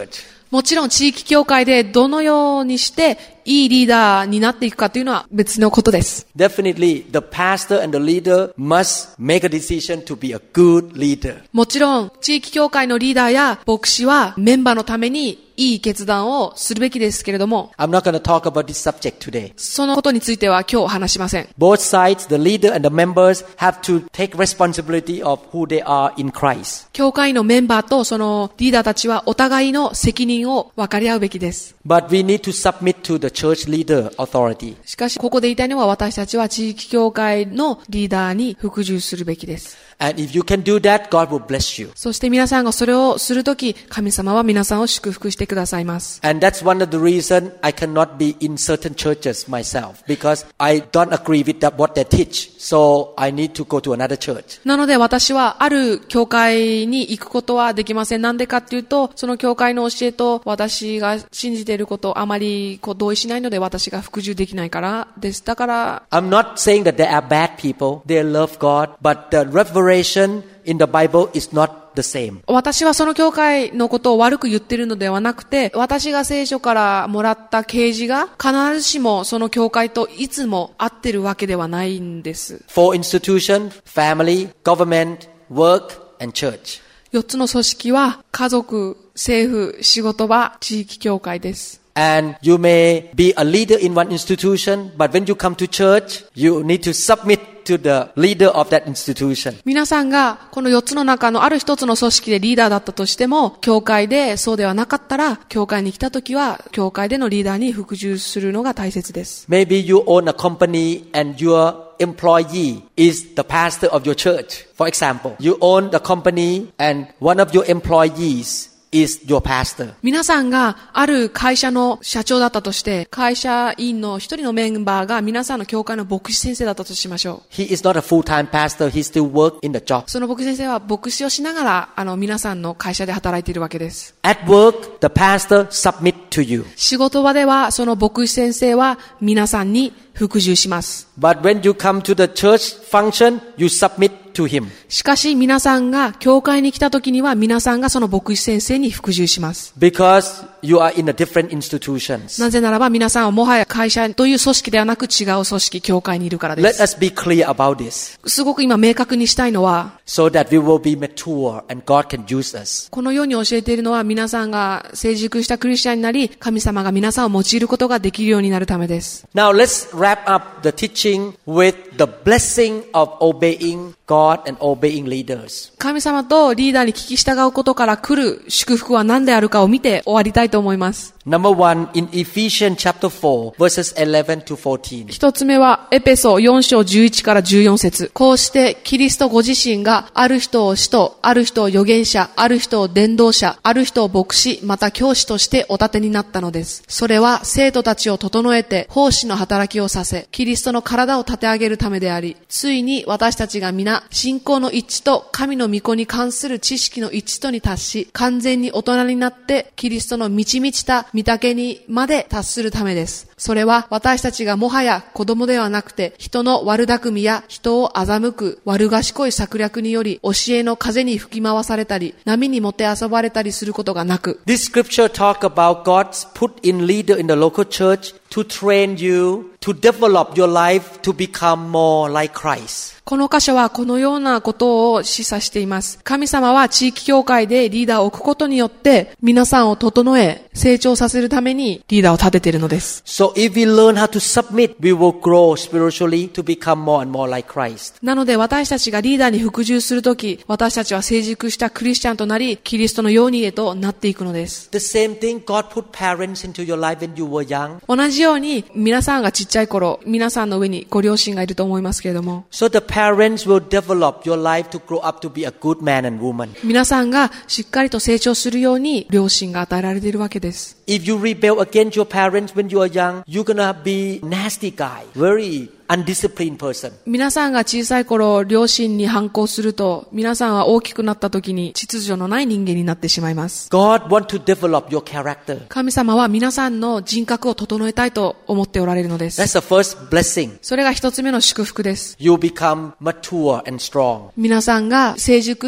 もちろん地域教会でどのようにしていいリーダーになっていくかというのは別のことです。 Definitely, the pastor and the leader must make a decision to be a good leader. もちろん地域教会のリーダーや牧師はメンバーのためにいい決断をするべきですけれども、 I'm not going to talk about this subject today. そのことについては今日話しません。 Both sides, the leader and the members, have to take responsibility of who they are in Christ. 教会のメンバーとそのリーダーたちはお互いの責任を分かり合うべきです。 But we need to submit to the church leader authority. しかしここで言いたいのは、私たちは地域教会のリーダーに服従するべきです。 And if you can do that, God will bless you. そして皆さんがそれをするとき、神様は皆さんを祝福してくださいます。 And that's one of the reasons I cannot be in certain churches myself, because I don't agree with what they teach. So I need to go to another church. なので私はある教会に行くことはできません。なんでかっていうと、その教会の教えと私が信じていることあまり同意しないので、私が服従できないからです。だから I'm not saying that they are bad people. They love God, but the revelation in the Bible is not the same. 私はその教会のことを悪く言っているのではなくて、私が聖書からもらった啓示が必ずしもその教会といつも合ってるわけではないんです。 Four institutions: family, government, work, and church. 4つの組織は家族、政府、仕事場、地域教会です。 And you may be a leader in one institution, but when you come to church, you need to submit to the leader of that institution. 皆さんがこの4つの中のある一つの組織でリーダーだったとしても、教会でそうではなかったら、教会に来たときは、教会でのリーダーに服従するのが大切です。 Maybe you own a company and your employee is the pastor of your church. For example, you own the company and one of your employees is your pastor. 皆さんがある会社の社長だったとして、会社員の一人のメンバーが皆さんの教会の牧師先生だったとしましょう。 He is not a full-time pastor. He still works in the job. その牧師先生は牧師をしながら皆さんの会社で働いているわけです。 At work, the pastor submit to you. 仕事場ではその牧師先生は皆さんに服従します。 But when you come to the church function, you submit to him. しかし皆さんが教会に来た時には皆さんがその牧師先生に服従します。 Because you are in a different institutions. なぜならば皆さんはもはや会社という組織ではなく違う組織、教会にいるからで Let す。 us be clear about this, すごく今明確にしたいのは、 so that we will be mature and God can use us. このように教えているのは皆さんが成熟したクリスチャンになり、神様が皆さんを用いることができるようになるためです。 Now let's wrap up the teaching with the blessing of obeying God and obeying leaders. 神様とリーダーに聞き従うことから来る祝福は何であるかを見て終わりたいと思います。 Number one, in Ephesians chapter 4, verses 11 to 14. 一つ目はエペソ4章11から14節。こうしてキリストご自身がある人を使徒、ある人を預言者、ある人を伝道者、ある人を牧師、また教師としてお立てになったのです。それは生徒たちを整えて奉仕の働きをさせ、キリストの体を立て上げるためであり、ついに私たちが皆信仰の一致と神の御子に関する知識の一致とに達し、完全に大人になってキリストの満ち満ちた御岳にまで達するためです。それは私たちがもはや子供ではなくて、人の悪巧みや人を欺く悪賢い策略により教えの風に吹き回されたり、波にもてあそばれたりすることがなく。 This scripture talk about God's put in leader in the local church to train you to develop your life to become more like Christ. この箇所はこのようなことを示唆しています。神様は地域教会でリーダーを置くことによって皆さんを整え成長させるためにリーダーを立てているのです。 So if we learn how to submit, we will grow spiritually to become more and more like Christ. なので私たちがリーダーに服従するとき、私たちは成熟したクリスチャンとなり、キリストのようにへとなっていくのです。 The same thing, God put parents into your life when you were young. 同じように皆さんがちっちゃい頃、皆さんの上にご両親がいると思いますけれども、 So the parents will develop your life to grow up to be a good man and woman. 皆さんがしっかりと成長するように両親が与えられているわけです。 If you rebel against your parents when you are young, you're gonna be nasty guy, very undisciplined person. 皆さんが小さい頃、両親に反抗すると、皆さんは大きくなった時に秩序のない人間になってしまいます。 God wants to develop your character. 神様は皆さんの人格を整えたいと思っておられるのです。 That's the first blessing. それが一つ目の祝福です。 You become mature and strong. 皆さんが成熟な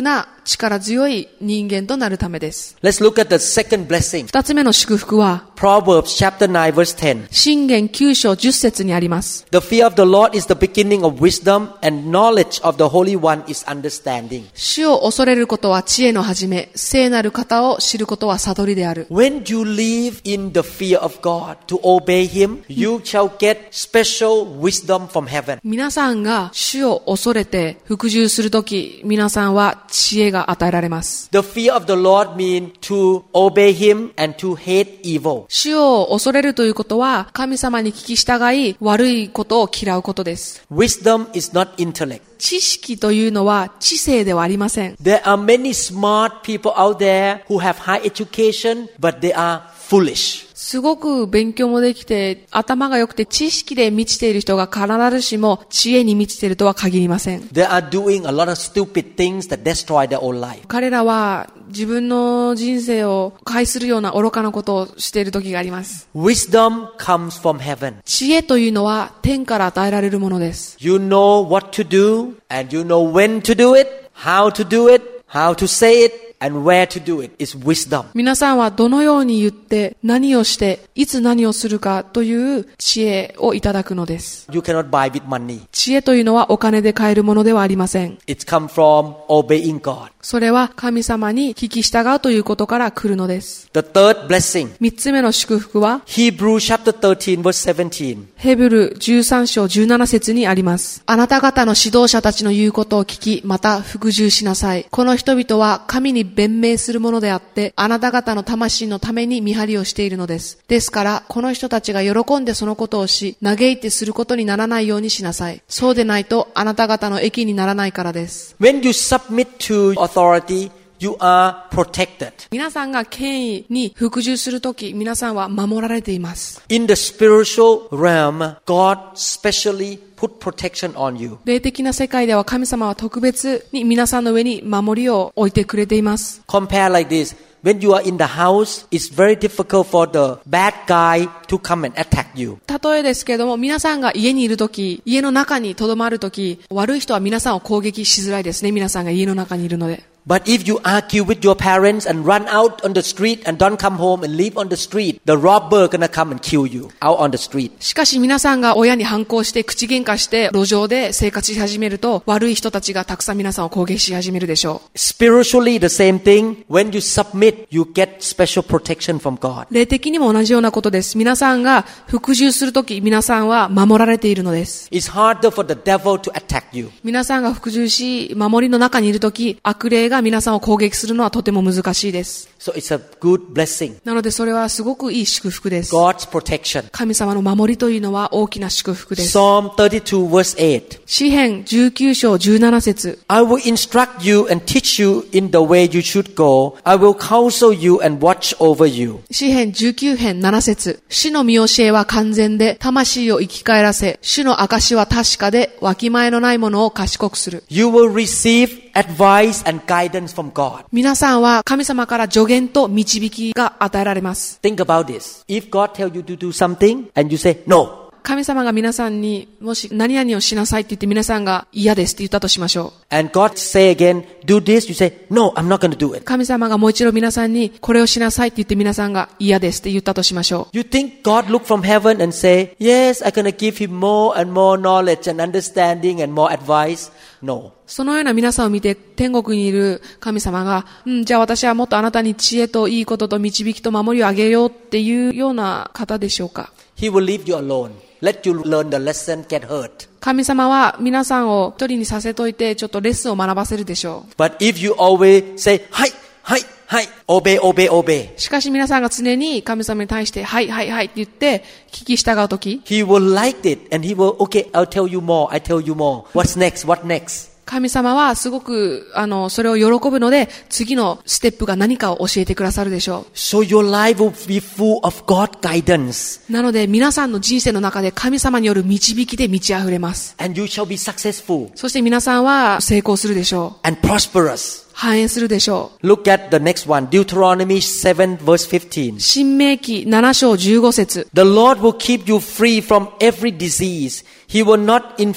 力強い人間となるためです。 Let's look at the second blessing. 二つ目の祝福は、 Proverbs chapter 9 verse 10. 箴言9章10節にあります。 The fear of the Lord is the beginning of wisdom, and knowledge of the Holy One is understanding. 主を恐れることは知恵の始め、聖なる方を知ることは悟りである。 When you live in the fear of God to obey Him, you shall get special wisdom from heaven. 皆さんが主を恐れて服従するとき、皆さんは知恵が与えられます。 The fear of the Lord means to obey Him and to hate evil. 主を恐れるということは、神様に聞き従い、悪いことを嫌うことです。 Wisdom is not intellect. 知識というのは知性ではありません。 There are many smart people out there who have high education, but they are foolish. すごく勉強もできて、頭が良くて知識で満ちている人が必ずしも知恵に満ちているとは限りません。 They are doing a lot of stupid things that destroy their own life. 彼らは自分の人生を害するような愚かなことをしている時があります。 Wisdom comes from heaven. 知恵というのは天から与えられるものです。 You know what to do, and you know when to do it, how to do it, how to say it.And where to do it is wisdom. 皆さんはどのように言って何をしていつ何をするかという知恵をいただくのです。 You cannot buy with money. 知恵というのはお金で買えるものではありません。 It's come from obeying God. それは神様に聞き従うということから来るのです。 The third blessing. 三つ目の祝福は Hebrews chapter 13 verse 17. ヘブル13章17節にあります。あなた方の指導者たちの言うことを聞き、また服従しなさい。この人々は神に弁明するものであって、あなた方の魂のために見張りをしているのです。ですから、この人たちが喜んでそのことをし、嘆いてすることにならないようにしなさい。そうでないと、あなた方の益にならないからです。 When you submit to authority, you are protected. 皆さんが権威に服従するとき、皆さんは守られています。 In the spiritual realm, God specially put protection on you. 霊的な世界では神様は特別に皆さんの上に守りを置いてくれています。 Compare like this. When you are in the house, it's very difficult for the bad guy to come and attack you. 例えですけれども、皆さんが家にいるとき、家の中に留まるとき、悪い人は皆さんを攻撃しづらいですね。皆さんが家の中にいるので。 But if you argue with your parents and run out on the street and don't come home and live on the street, the robber gonna come and kill you out on the street. しかし皆さんが親に反抗して口喧嘩して路上で生活し始めると、悪い人たちがたくさん皆さんを攻撃し始めるでしょう。 Spiritually the same thing. When you submit, you get special protection from God. 霊的にも同じようなことです。皆さんが服従するとき、皆さんは守られているのです。 It's harder for the devil to attack you. 皆さんが服従し、守りの中にいるとき、悪霊が皆さんを攻撃するのはとても難しいです。 So it's a good blessing. なのでそれはすごくいい祝福です。 God's protection. 神様の守りというのは大きな祝福です。 Psalm 32 verse 8. 詩編19章17節 I will instruct you and teach you in the way you should go. I will counsel you and watch over you. 詩編19編7節主の見教えは完全で、魂を生き返らせ、主の証は確かで、わきまえのないものを賢くする。 You will receive advice and guidance from God. 皆さんは神様から助言と導きが与えられます。 Think about this. If God tells you to do something and you say no. 神様が皆さんにもし何々をしなさいって言って皆さんが嫌ですって言ったとしましょう。 And God say again, do this. You say, no, I'm not going to do it. 神様がもう一度皆さんにこれをしなさいって言って皆さんが嫌ですって言ったとしましょう。 You think God look from heaven and say, yes, I'm going to give him more and more knowledge and understanding and more advice? No. そのような皆さんを見て天国にいる神様が、じゃあ私はもっとあなたに知恵といいことと導きと守りをあげようっていうような方でしょうか。 He will leave you alone.Let you learn the lesson, get hurt. 神様は皆さんを一人にさせといてちょっとレッスンを学ばせるでしょう。 But if you always say, はい、はい、はい、obey, obey, obey. しかし皆さんが常に神様に対して、はい、はい、はいって言って聞き従うとき、 He will like it and he will, okay, I'll tell you more, I tell you more. What's next, what next? 神様はすごくそれを喜ぶので次のステップが何かを教えてくださるでしょう。 So your life will be full of God guidance. なので皆さんの人生の中で神様による導きで満ち溢れます。 And you shall be successful. そして皆さんは成功するでしょう。 And prosperous. 繁栄するでしょう。 Look at the next one. Deuteronomy 7 verse 15. 申命記7章15節 The Lord will keep you free from every disease. He will not inflict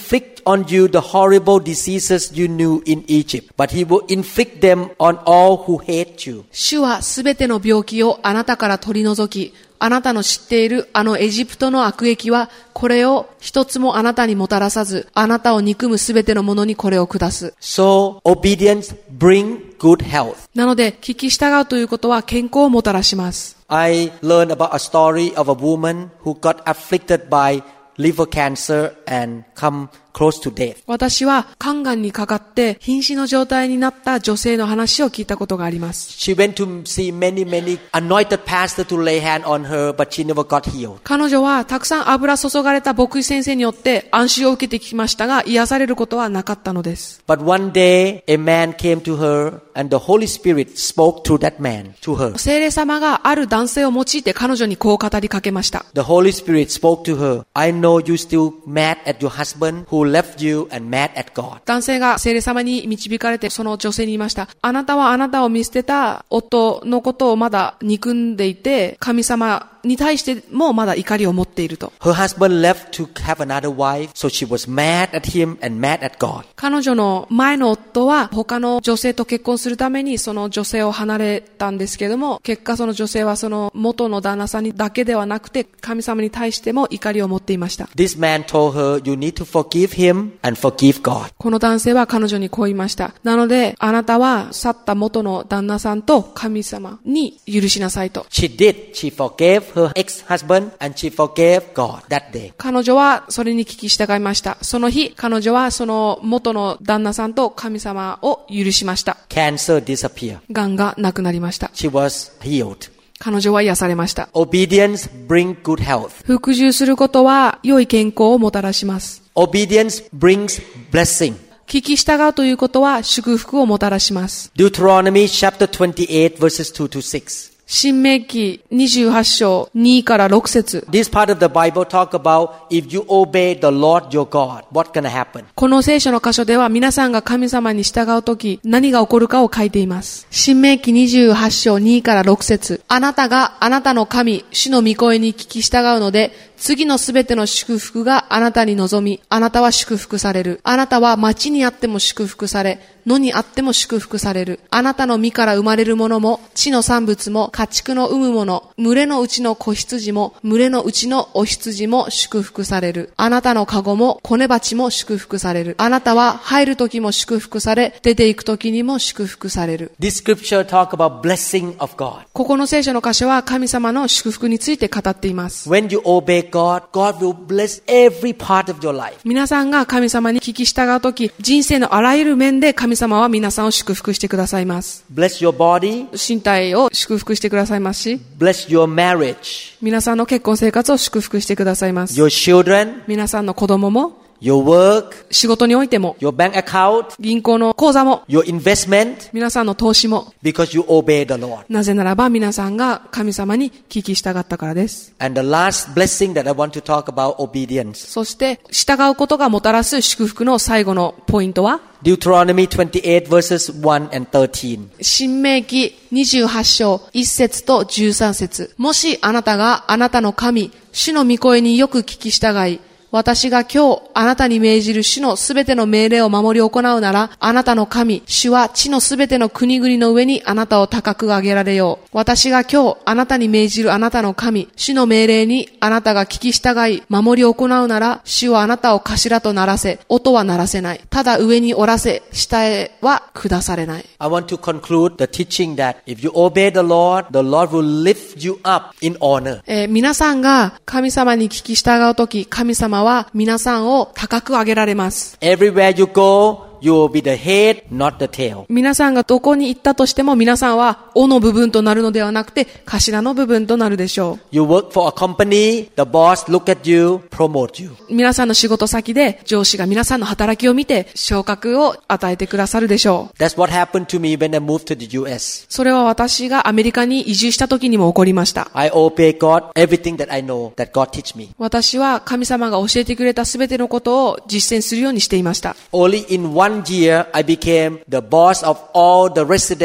on you the horrible diseases you knew in Egypt, but he will inflict them on all who hate you. 主はすべての病気をあなたから取り除き、あなたの知っているあのエジプトの悪役は、これを一つもあなたにもたらさず、あなたを憎むすべてのものにこれを下す。 So, obedience bring good health. なので、聞き従うということは健康をもたらします。 I learned about a story of a woman who got afflicted by liver cancer and come close to death. 私は肝がんにかかって瀕死の状態になった女性の話を聞いたことがあります。 She went to see many anointed pastors to lay hand on her, but she never got healed. 彼女はたくさん油注がれた牧師先生によって安心を受けてきましたが、癒されることはなかったのです。 But one day, a man came to her and the Holy Spirit spoke through that man to her. 聖霊様がある男性を用いて彼女にこう語りかけました。 The Holy Spirit spoke to her, I know you still mad at your husband who left you and mad at God. 男性が聖霊様に導かれてその女性に言いました。あなたはあなたを見捨てた夫のことをまだ憎んでいて、神様に対してもまだ怒りを持っていると。 Her husband left to have another wife, so she was mad at him and mad at God. 彼女の前の夫は他の女性と結婚するためにその女性を離れたんですけども、結果その女性はその元の旦那さんにだけではなくて神様に対しても怒りを持っていました。 This man told her, you need to forgive him and forgive God. この男性は彼女にこう言いました。なのであなたは去った元の旦那さんと神様に許しなさいと。 She did. She forgave her ex-husband and she forgave God that day. 彼女はそれに聞き従いました。その日、彼女はその元の旦那さんと神様を許しました。 Cancer disappeared. 癌がなくなりました。 She was healed. 彼女は癒されました。 Obedience brings good health. 服従することは良い健康をもたらします。 Obedience brings blessing. 聞き従うということは祝福をもたらします。 Deuteronomy chapter 28 verses 2 to 6. 新明記28章2から6節。 This part of the Bible talk about if you obey the Lord your God, what's going to happen? この聖書の箇所では皆さんが神様に従うとき何が起こるかを書いています。新明記28章2から6節。あなたがあなたの神、主の御声に聞き従うので、次のすべての祝福があなたに望み、あなたは祝福される。あなたは町にあっても祝福され、野にあっても祝福される。あなたの身から生まれるものも、地の産物も、家畜の産むもの、群れのうちの子羊も、群れのうちのお羊も祝福される。あなたの籠も、子根鉢も祝福される。あなたは入る時も祝福され、出て行く時にも祝福される。 This scripture talk about blessing of God. ここの聖書の箇所は神様の祝福について語っています。 When you obey God, God will bless every part of your life. 皆さんが神様に聞き従うとき、人生のあらゆる面で神様は皆さんを祝福してくださいます。 Bless your body. 身体を祝福してくださいますし、 Bless your marriage. 皆さんの結婚生活を祝福してくださいます。 Your children. 皆さんの子供も、 Your work. 仕事においても、 Your bank account. 銀行の口座も、 Your investment. 皆さんの投資も、 Because you obey the Lord. なぜならば皆さんが神様に聞き従ったからです。 And the last blessing that I want to talk about obedience. そして従うことがもたらす祝福の最後のポイントは、 Deuteronomy 28 verses 1 and 13. 新明記28章1節と13節。もしあなたがあなたの神、主の御声によく聞き従い、私が今日あなたに命じる主のすべての命令を守り行うなら、あなたの神、主は地のすべての国々の上にあなたを高く上げられよう。私が今日あなたに命じるあなたの神、主の命令にあなたが聞き従い、守り行うなら、主はあなたを頭とならせ、音は鳴らせない。ただ上におらせ、下へは下されない。 I want to conclude the teaching that if you obey the Lord will lift you up in honor. 皆さんが神様に聞き従うとき、神様は皆さんを高く上げられます。 Everywhere you go, you will be the head, not the tail. 皆さんがどこに行ったとしても皆さんは尾の部分となるのではなくて頭の部分となるでしょう。 You work for a company, the boss look at you, promote you. 皆さんの仕事先で上司が皆さんの働きを見て昇格を与えてくださるでしょう。 That's what happened to me when I moved to the US. それは私がアメリカに移住した時にも起こりました。 I obey God, everything that I know that God teach me. 私は神様が教えてくれたすべてのことを実践するようにしていました。 Only in one year, I became the boss of all the resident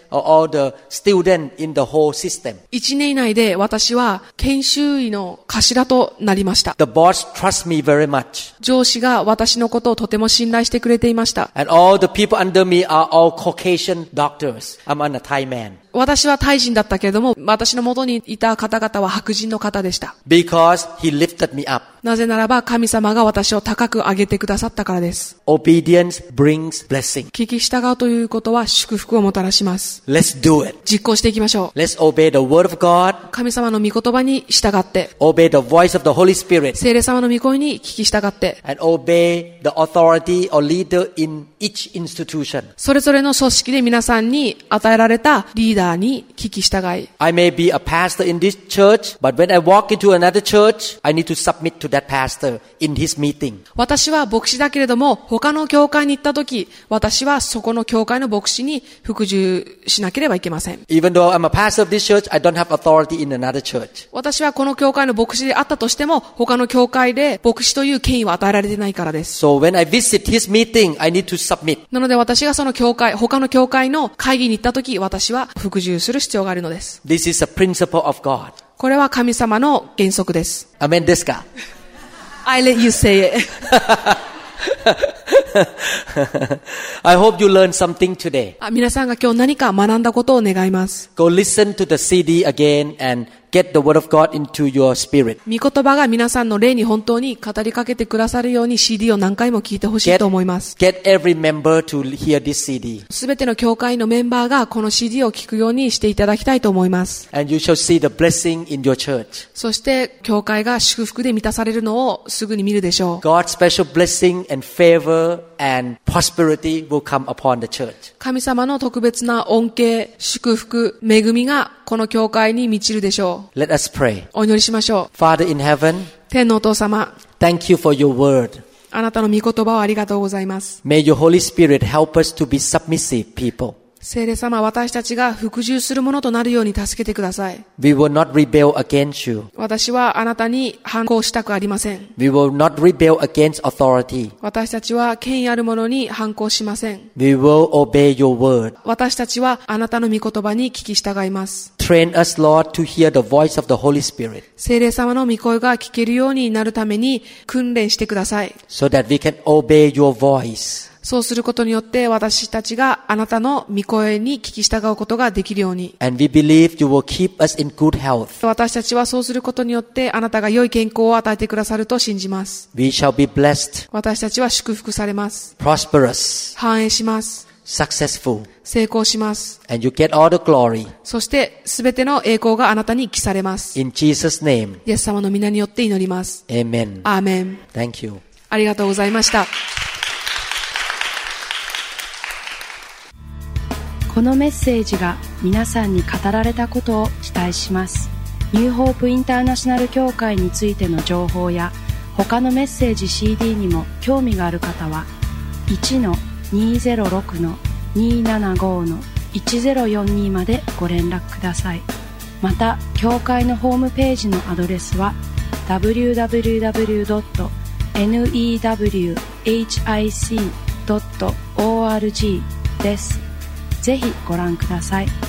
or all the students in the whole system. 1年以内で私は研修医の頭となりました。 The boss trusts me very much. 上司が私のことをとても信頼してくれていました。 And all the people under me are all Caucasian doctors. I'm a Thai man. 私はタイ人だったけれども、私の元にいた方々は白人の方でした。 Because he lifted me up. なぜならば神様が私を高く上げてくださったからです。 Obedience brings blessing. 聞き従うということは祝福をもたらします。 Let's do it. 実行していきましょう。 Let's obey the word of God. 神様の御言葉に従って、 Obey the voice of the Holy Spirit. 聖霊様の御声に聞き従って、 And obey the authority or leader in each institution. それぞれの組織で皆さんに与えられたリーダーに聞き従い。 I may be a pastor in this church, but when I walk into another church, I need to submit to that pastor in his meeting. 私は牧師だけれども、他の教会に行ったとき、私はそこの教会の牧師に服従しなければいけません。 Even though I'm a pastor of this church, I don't have authority in another church. 私はこの教会の牧師であったとしても、他の教会で牧師という権威は与えられてないからです。 So when I visit his meeting, I need to submit. なので私がその教会、他の教会の会議に行ったとき、私は服従する必要があるのです。 This is a principle of God. これは神様の原則です。 Amen ですか? I let you say it. I hope you learned something today. 皆さんが今日何か学んだことを願います。 Go listen to the CD again and get the word of God into your spirit. 御言葉が皆さんの霊に本当に語りかけてくださるように CD を何回も聞いてほしいと思います。 Get every member to hear this CD. すべての教会のメンバーがこの CD を聞くようにしていただきたいと思います。 And you shall see the blessing in your church. そして教会が祝福で満たされるのをすぐに見るでしょう。 God's special blessing and favor and prosperity will come upon the church. 神様の特別な恩恵、祝福、恵みがこの教会に満ちるでしょう。 Let us pray. お祈りしましょう。 Father in heaven, 天のお父様、 thank you for your word. あなたの御言葉をありがとうございます。 May your Holy Spirit help us to be submissive people. 聖霊様、私たちが服従するものとなるように助けてください。 We will not rebel against you. 私はあなたに反抗したくありません。 We will not rebel against authority. 私たちは権威あるものに反抗しません。 We will obey your word. 私たちはあなたの御言葉に聞き従います。 Train us, Lord, to hear the voice of the Holy Spirit. 聖霊様の御声が聞けるようになるために訓練してください。 So that we can obey your voice. そうすることによって私たちがあなたの御声に聞き従うことができるように。 And we believe you will keep us in good health. 私たちはそうすることによってあなたが良い健康を与えてくださると信じます。 We shall be blessed, 私たちは祝福されます。 prosperous, 繁栄します。 successful. 成功します。 And you get all the glory. そしてすべての栄光があなたに帰されます。 In Jesus' name, イエス様の皆によって祈ります。 amen. アーメン。 Thank you. ありがとうございました。 このメッセージが皆さんに語られたことを期待します。ニューホープインターナショナル協会についての情報や他のメッセージ CD にも興味がある方は 1-206-275-1042 までご連絡ください。また協会のホームページのアドレスは www.newhic.org です。ぜひご覧ください。